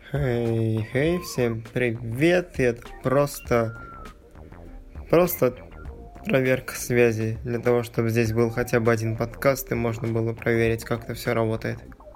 Всем привет, и это просто проверка связи, для того, чтобы здесь был хотя бы один подкаст, и можно было проверить, как это все работает.